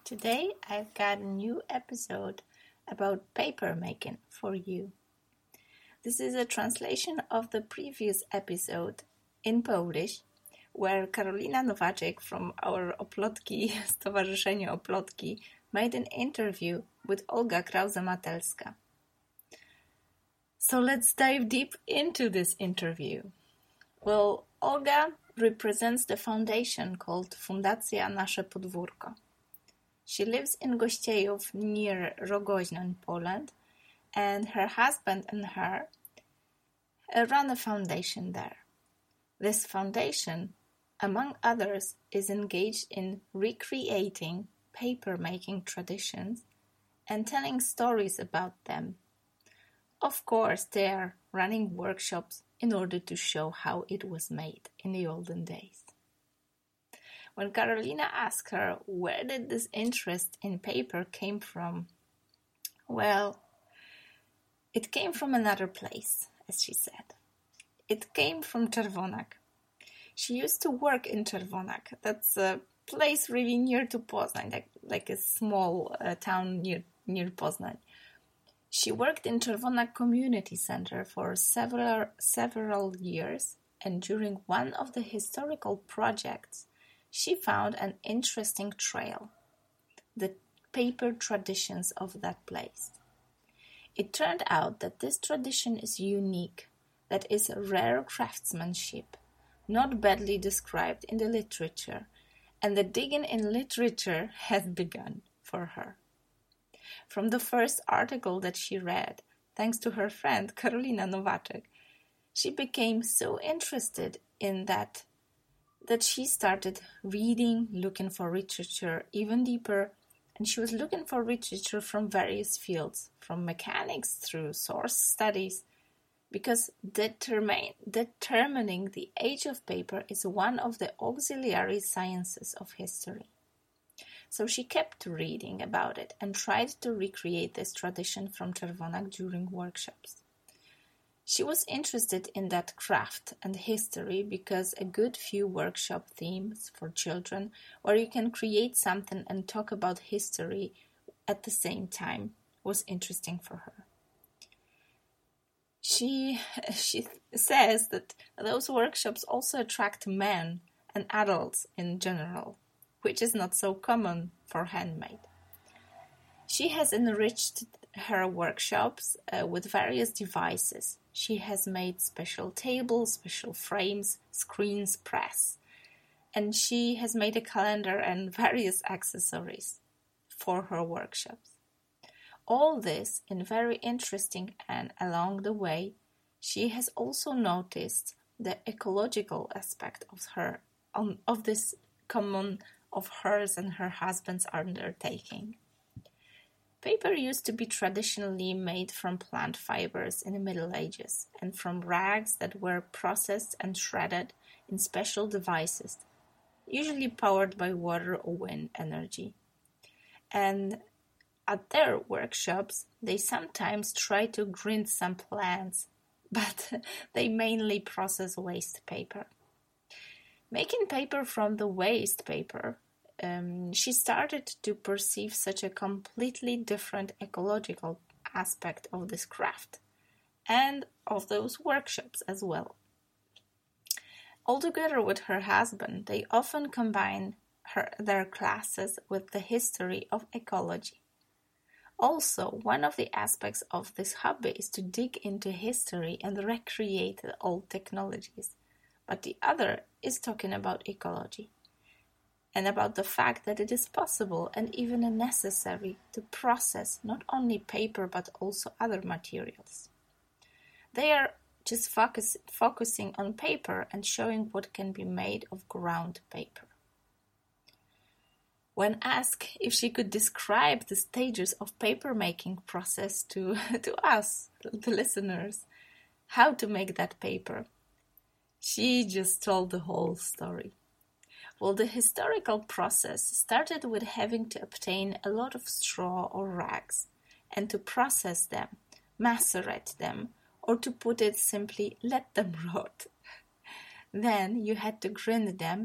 Today I've got a new episode about paper making for you. This is a translation of the previous episode in Polish, where Karolina Nowaczek from our Oplotki, Stowarzyszenie Oplotki, made an interview with Olga Krause-Matelska. So let's dive deep into this interview. Well, Olga represents the foundation called Fundacja Nasze Podwórko. She lives in Gościejów near Rogoźno in Poland, and her husband and her run a foundation there. This foundation, among others, is engaged in recreating paper-making traditions and telling stories about them. Of course, they are running workshops in order to show how it was made in the olden days. When Karolina asked her where did this interest in paper came from, well, it came from another place, as she said. It came from Czerwonak. She used to work in Czerwonak. That's a place really near to Poznań, like a small town near Poznań. She worked in Czerwonak Community Center for several years, and during one of the historical projects, she found an interesting trail, the paper traditions of that place. It turned out that this tradition is unique, that is rare craftsmanship, not badly described in the literature, and the digging in literature has begun for her. From the first article that she read, thanks to her friend Karolina Nowaczek, she became so interested in that she started reading, looking for literature even deeper, and she was looking for literature from various fields, from mechanics through source studies, because determining the age of paper is one of the auxiliary sciences of history. So she kept reading about it and tried to recreate this tradition from Czerwonak during workshops. She was interested in that craft and history because a good few workshop themes for children where you can create something and talk about history at the same time was interesting for her. She says that those workshops also attract men and adults in general, which is not so common for handmade. She has enriched her workshops with various devices. She has made special tables, special frames, screens, press, and she has made a calendar and various accessories for her workshops. All this in very interesting, and along the way, she has also noticed the ecological aspect of this common of hers and her husband's undertaking. Paper used to be traditionally made from plant fibers in the Middle Ages and from rags that were processed and shredded in special devices, usually powered by water or wind energy. And at their workshops, they sometimes try to grind some plants, but they mainly process waste paper. Making paper from the waste paper, she started to perceive such a completely different ecological aspect of this craft and of those workshops as well. Altogether with her husband, they often combine their classes with the history of ecology. Also, one of the aspects of this hobby is to dig into history and recreate the old technologies, but the other is talking about ecology, and about the fact that it is possible and even necessary to process not only paper but also other materials. They are just focusing on paper and showing what can be made of ground paper. When asked if she could describe the stages of paper-making process to us, the listeners, how to make that paper, she just told the whole story. Well, the historical process started with having to obtain a lot of straw or rags and to process them, macerate them, or to put it simply, let them rot. Then you had to grind them,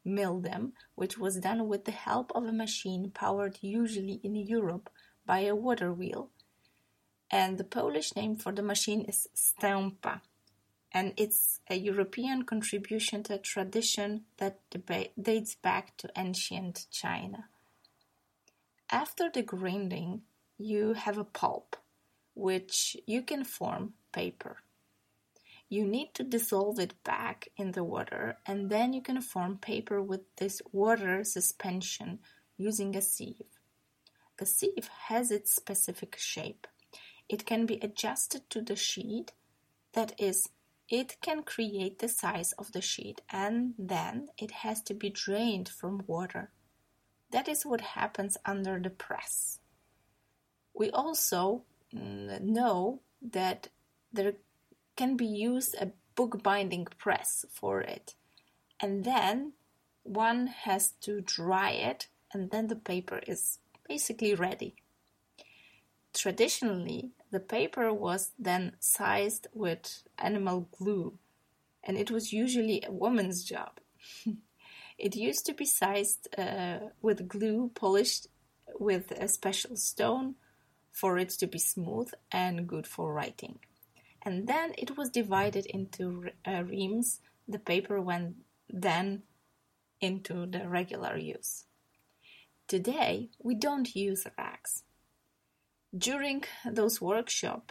mill them, which was done with the help of a machine powered usually in Europe by a water wheel. And the Polish name for the machine is stępa, and it's a European contribution to a tradition that dates back to ancient China. After the grinding, you have a pulp, which you can form paper. You need to dissolve it back in the water, and then you can form paper with this water suspension using a sieve. The sieve has its specific shape. It can be adjusted to the sheet, that is, it can create the size of the sheet, and then it has to be drained from water. That is what happens under the press. We also know that there can be used a bookbinding press for it, and then one has to dry it, and then the paper is basically ready. Traditionally, the paper was then sized with animal glue, and it was usually a woman's job. It used to be sized with glue polished with a special stone for it to be smooth and good for writing. And then it was divided into reams. The paper went then into the regular use. Today, we don't use racks. During those workshops,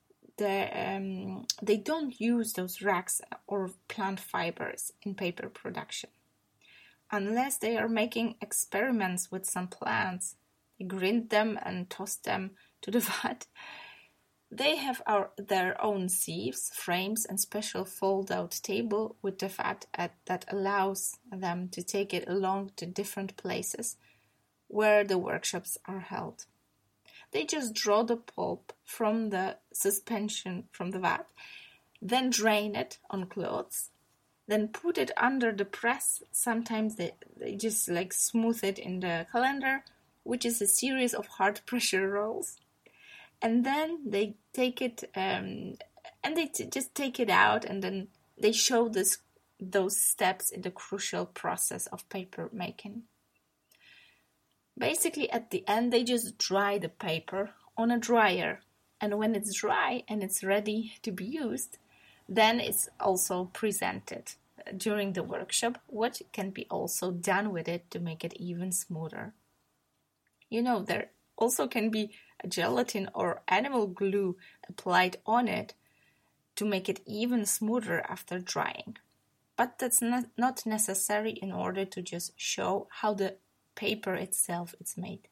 they don't use those racks or plant fibers in paper production. Unless they are making experiments with some plants, they grind them and toss them to the vat. They have their own sieves, frames, and special fold-out table with the vat that allows them to take it along to different places where the workshops are held. They just draw the pulp from the suspension from the vat, then drain it on clothes, then put it under the press. Sometimes they just smooth it in the colander, which is a series of hard pressure rolls. And then they take it and they just take it out, and then they show those steps in the crucial process of paper making. Basically, at the end, they just dry the paper on a dryer, and when it's dry and it's ready to be used, then it's also presented during the workshop what can be also done with it to make it even smoother. There also can be a gelatin or animal glue applied on it to make it even smoother after drying. But that's not necessary in order to just show how the paper itself is made.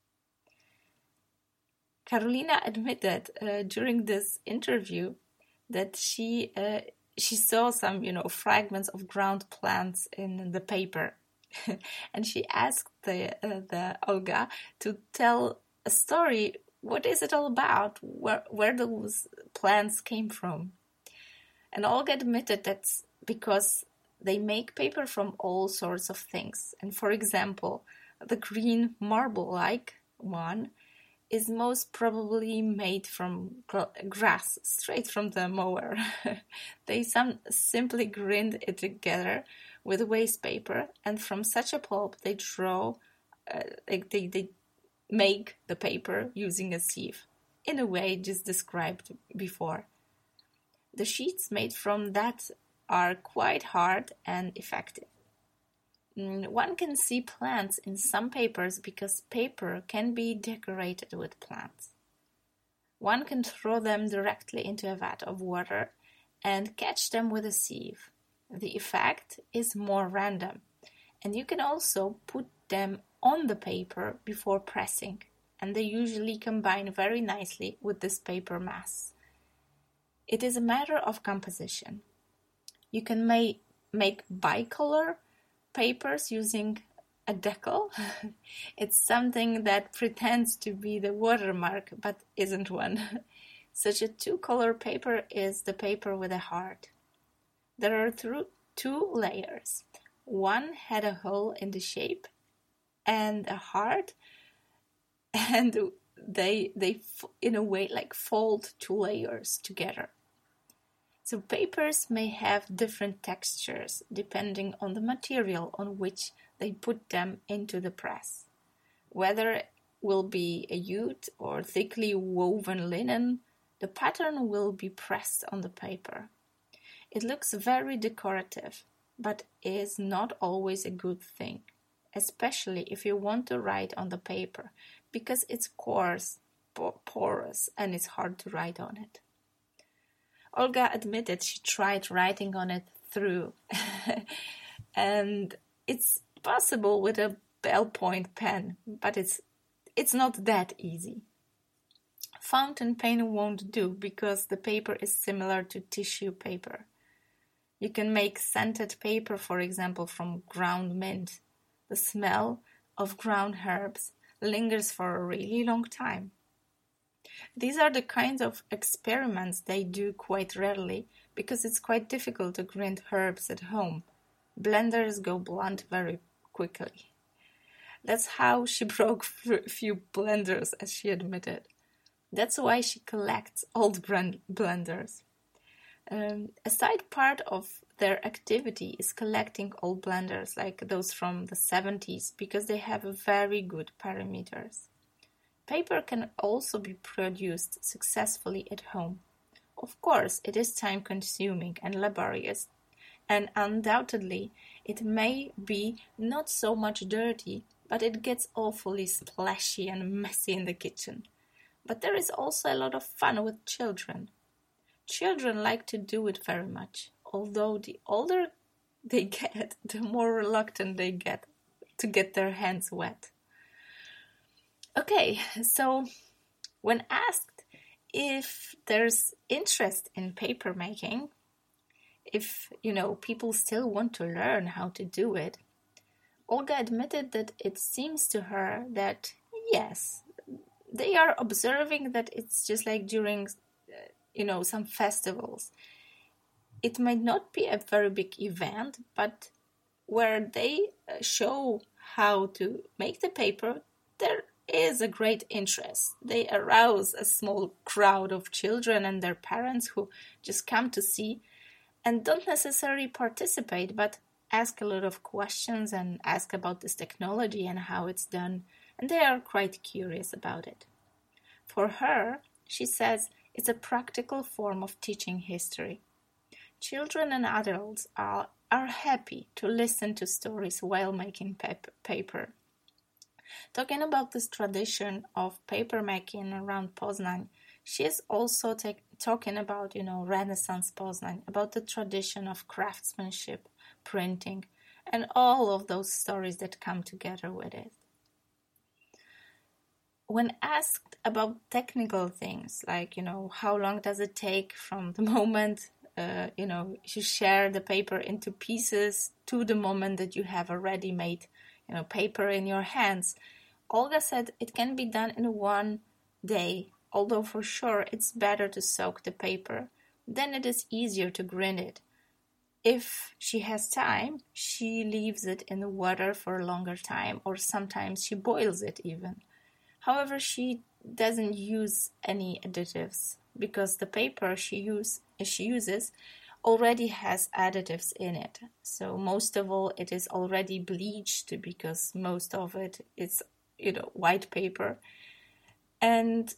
Karolina admitted during this interview that she saw some, fragments of ground plants in the paper, and she asked the Olga to tell a story. What is it all about? Where those plants came from? And Olga admitted that's because they make paper from all sorts of things. And for example, the green marble-like one is most probably made from grass, straight from the mower. They simply grind it together with waste paper, and from such a pulp they they make the paper using a sieve, in a way just described before. The sheets made from that are quite hard and effective. One can see plants in some papers because paper can be decorated with plants. One can throw them directly into a vat of water and catch them with a sieve. The effect is more random, and you can also put them on the paper before pressing, and they usually combine very nicely with this paper mass. It is a matter of composition. You can make bicolor papers using a decal. It's something that pretends to be the watermark but isn't one. Such a two-color paper is the paper with a heart. There are two layers. One had a hole in the shape and a heart, and they in a way fold two layers together. So papers may have different textures depending on the material on which they put them into the press. Whether it will be a jute or thickly woven linen, the pattern will be pressed on the paper. It looks very decorative, but is not always a good thing, especially if you want to write on the paper, because it's coarse, porous, and it's hard to write on it. Olga admitted she tried writing on it through, and it's possible with a ballpoint pen, but it's not that easy. Fountain pen won't do because the paper is similar to tissue paper. You can make scented paper, for example, from ground mint. The smell of ground herbs lingers for a really long time. These are the kinds of experiments they do quite rarely because it's quite difficult to grind herbs at home. Blenders go blunt very quickly. That's how she broke a few blenders, as she admitted. That's why she collects old blenders. A side part of their activity is collecting old blenders like those from the 70s because they have very good parameters. Paper can also be produced successfully at home. Of course, it is time-consuming and laborious, and undoubtedly it may be not so much dirty, but it gets awfully splashy and messy in the kitchen. But there is also a lot of fun with children. Children like to do it very much, although the older they get, the more reluctant they get to get their hands wet. Okay, so when asked if there's interest in paper making, if, people still want to learn how to do it, Olga admitted that it seems to her that, yes, they are observing that it's just like during, some festivals. It might not be a very big event, but where they show how to make the paper, there is a great interest. They arouse a small crowd of children and their parents who just come to see and don't necessarily participate, but ask a lot of questions and ask about this technology and how it's done, and they are quite curious about it. For her, she says, it's a practical form of teaching history. Children and adults are happy to listen to stories while making paper. Talking about this tradition of paper making around Poznań, she is also talking about, Renaissance Poznań, about the tradition of craftsmanship, printing, and all of those stories that come together with it. When asked about technical things, like, how long does it take from the moment, you share the paper into pieces to the moment that you have a ready-made, paper in your hands, Olga said it can be done in one day, although for sure it's better to soak the paper. Then it is easier to grind it. If she has time, she leaves it in the water for a longer time, or sometimes she boils it even. However, she doesn't use any additives because the paper she uses already has additives in it. So most of all, it is already bleached because most of it is, white paper. And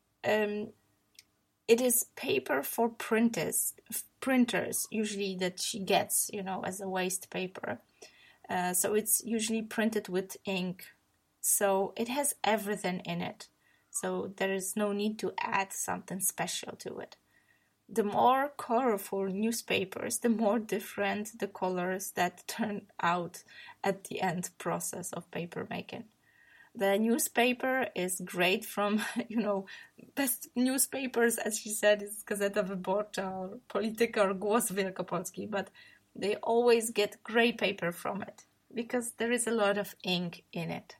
it is paper for printers usually that she gets, as a waste paper. So it's usually printed with ink. So it has everything in it. So there is no need to add something special to it. The more colorful newspapers, the more different the colors that turn out at the end process of paper making. The newspaper is great from, best newspapers, as she said, is Gazeta Wyborcza or Polityka or Głos Wielkopolski, but they always get gray paper from it because there is a lot of ink in it.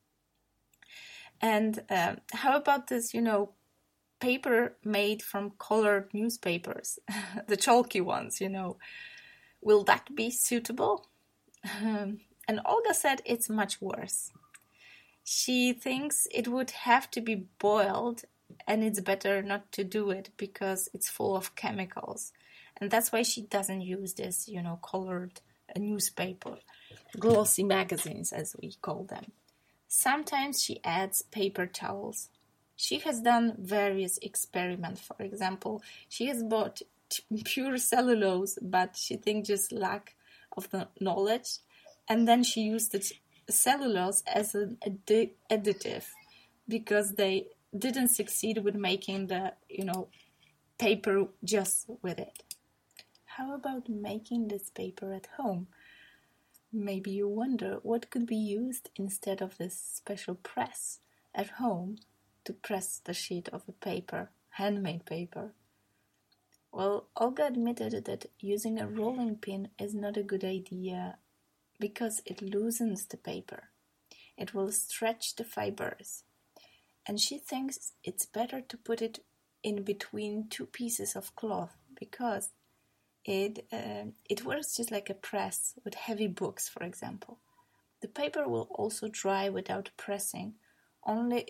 And how about this, paper made from colored newspapers, the chalky ones, will that be suitable? And Olga said it's much worse. She thinks it would have to be boiled, and it's better not to do it because it's full of chemicals. And that's why she doesn't use this, colored newspaper, glossy magazines as we call them. Sometimes she adds paper towels. She has done various experiments. For example, she has bought pure cellulose, but she thinks just lack of the knowledge. And then she used the cellulose as an additive because they didn't succeed with making the, paper just with it. How about making this paper at home? Maybe you wonder what could be used instead of this special press at home to press the sheet of a paper, handmade paper. Well, Olga admitted that using a rolling pin is not a good idea because it loosens the paper. It will stretch the fibers. And she thinks it's better to put it in between two pieces of cloth because it works just like a press with heavy books, for example. The paper will also dry without pressing, only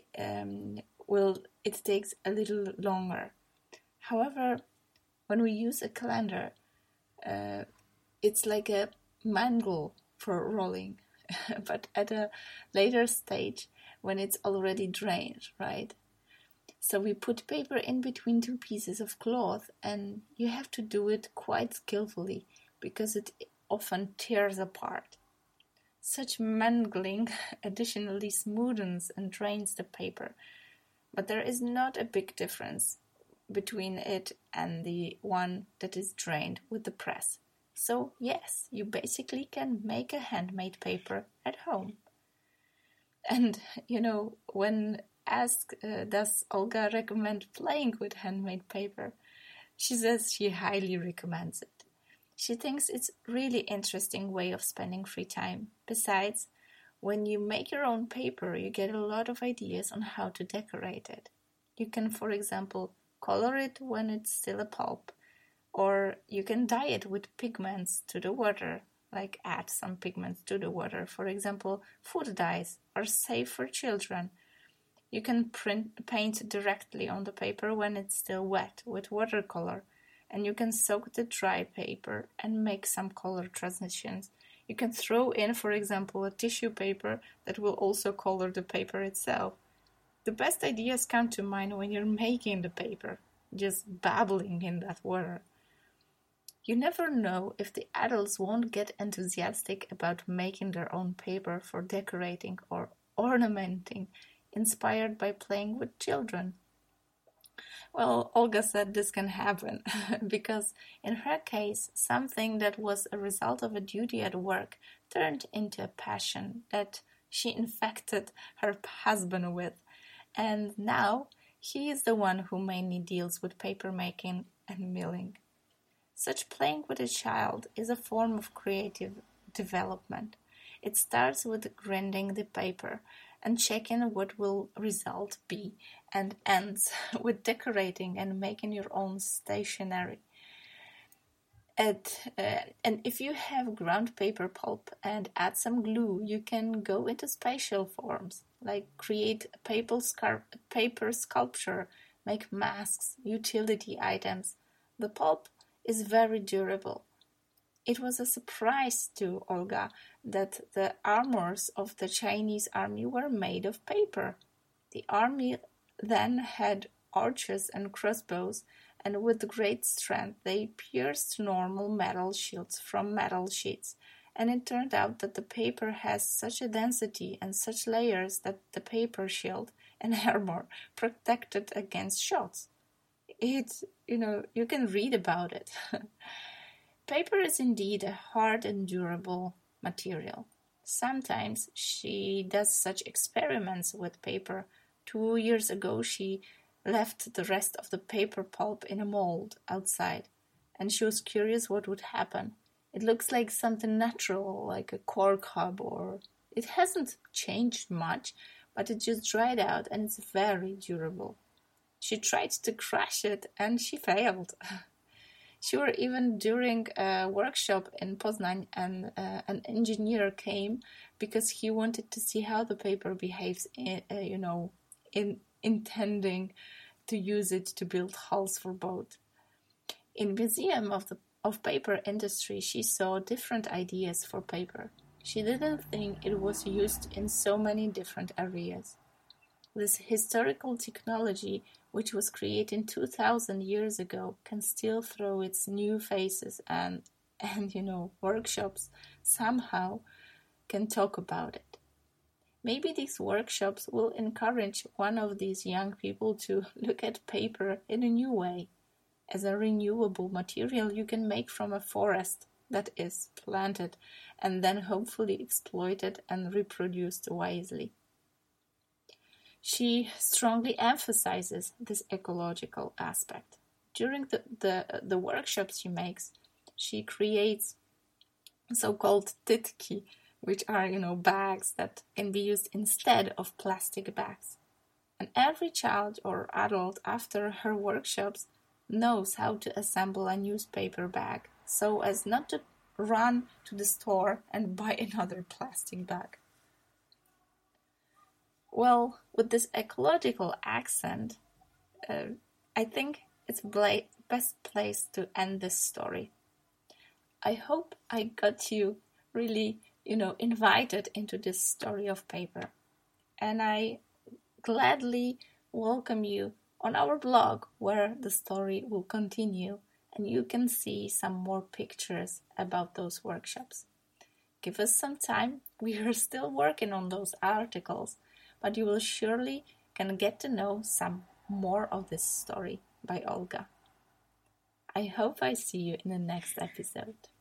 it takes a little longer. However, when we use a calendar, it's like a mangle for rolling, but at a later stage when it's already drained, right? So we put paper in between two pieces of cloth, and you have to do it quite skillfully because it often tears apart. Such mangling additionally smoothens and drains the paper, but there is not a big difference between it and the one that is drained with the press. So yes, you basically can make a handmade paper at home. And, when asked, does Olga recommend playing with handmade paper? She says she highly recommends it. She thinks it's a really interesting way of spending free time. Besides, when you make your own paper, you get a lot of ideas on how to decorate it. You can, for example, color it when it's still a pulp, or you can dye it with pigments to the water, like add some pigments to the water. For example, food dyes are safe for children. You can paint directly on the paper when it's still wet with watercolor, and you can soak the dry paper and make some color transitions. You can throw in, for example, a tissue paper that will also color the paper itself. The best ideas come to mind when you're making the paper, just babbling in that water. You never know if the adults won't get enthusiastic about making their own paper for decorating or ornamenting, inspired by playing with children. Well, Olga said this can happen because in her case, something that was a result of a duty at work turned into a passion that she infected her husband with, and now he is the one who mainly deals with paper making and milling. Such playing with a child is a form of creative development. It starts with grinding the paper and checking what will result be, and ends with decorating and making your own stationery. And if you have ground paper pulp and add some glue, you can go into spatial forms, like create a paper sculpture, make masks, utility items. The pulp is very durable. It was a surprise to Olga that the armors of the Chinese army were made of paper. The army then had archers and crossbows, and with great strength they pierced normal metal shields from metal sheets, and it turned out that the paper has such a density and such layers that the paper shield and armor protected against shots. You can read about it. Paper is indeed a hard and durable material. Sometimes she does such experiments with paper. 2 years ago, she left the rest of the paper pulp in a mold outside, and she was curious what would happen. It looks like something natural, like a cork hub, or it hasn't changed much, but it just dried out and it's very durable. She tried to crush it and she failed. Sure, even during a workshop in Poznan, an engineer came because he wanted to see how the paper behaves, in intending to use it to build hulls for boats. In Museum of Paper Industry, she saw different ideas for paper. She didn't think it was used in so many different areas. This historical technology, which was created 2,000 years ago, can still throw its new faces and workshops somehow can talk about it. Maybe these workshops will encourage one of these young people to look at paper in a new way, as a renewable material you can make from a forest that is planted and then hopefully exploited and reproduced wisely. She strongly emphasizes this ecological aspect. During the workshops she makes, she creates so-called titki, which are, bags that can be used instead of plastic bags. And every child or adult after her workshops knows how to assemble a newspaper bag so as not to run to the store and buy another plastic bag. Well, with this ecological accent, I think it's the best place to end this story. I hope I got you really, invited into this story of paper. And I gladly welcome you on our blog where the story will continue and you can see some more pictures about those workshops. Give us some time. We are still working on those articles, but you will surely can get to know some more of this story by Olga. I hope I see you in the next episode.